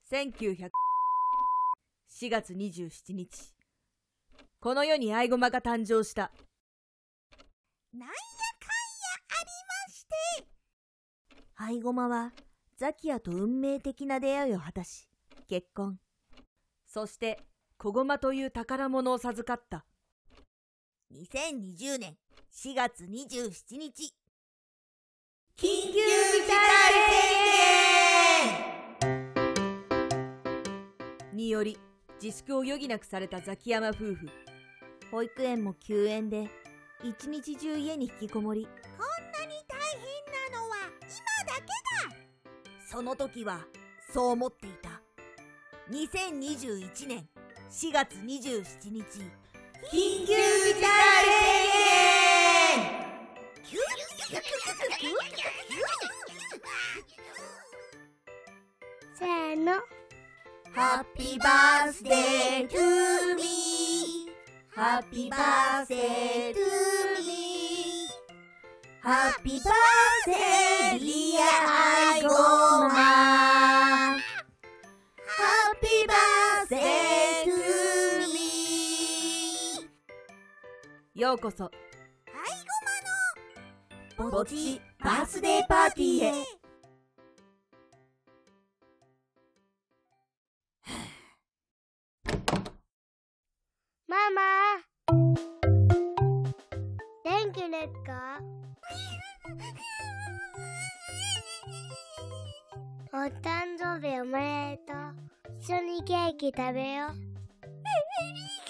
1900 4月27日、この世に愛駒が誕生した。 なんやかんやありまして、 愛駒はザキヤと運命的な出会いを果たし結婚。 そして小駒という宝物を授かった。 2020年4月27日、 緊急事態により自粛を余儀なくされたザキヤマ夫婦。 保育園も休園で一日中家に引きこもり。 こんなに大変なのは今だけだ。その時はそう思っていた。2021年4月27日、 緊急事態宣言。 せーの。 ハッピーバースデートゥーミー。ハッピーバースデートゥーミー。ハッピーバースデーディアアイゴマ。ハッピーバースデートゥーミー。 ようこそアイゴマのぼっちバースデーパーティーへ。 ママ、元気ですか？お誕生日おめでとう。一緒にケーキ食べよう。